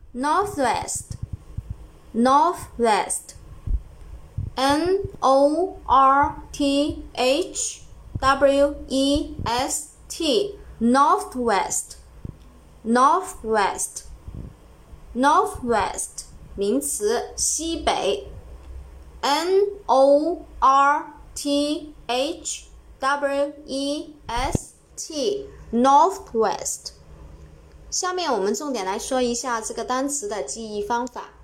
northwest, northwest, N-O-R-T-H-W-E-S-T, northwest, northwest, northwest 名词，西北 N-O-R-T-H-W-E-S-T, northwest。下面我们重点来说一下这个单词的记忆方法。